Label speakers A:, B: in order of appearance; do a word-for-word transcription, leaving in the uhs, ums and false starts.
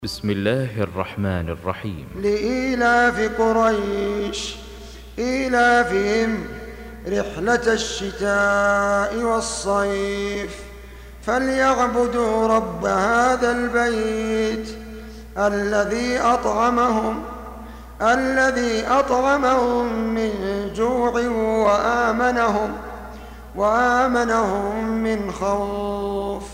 A: بسم الله الرحمن الرحيم.
B: لإيلاف قريش إيلافهم رحلة الشتاء والصيف فليعبدوا رب هذا البيت الذي أطعمهم الذي أطعمهم من جوع وآمنهم وآمنهم من خوف.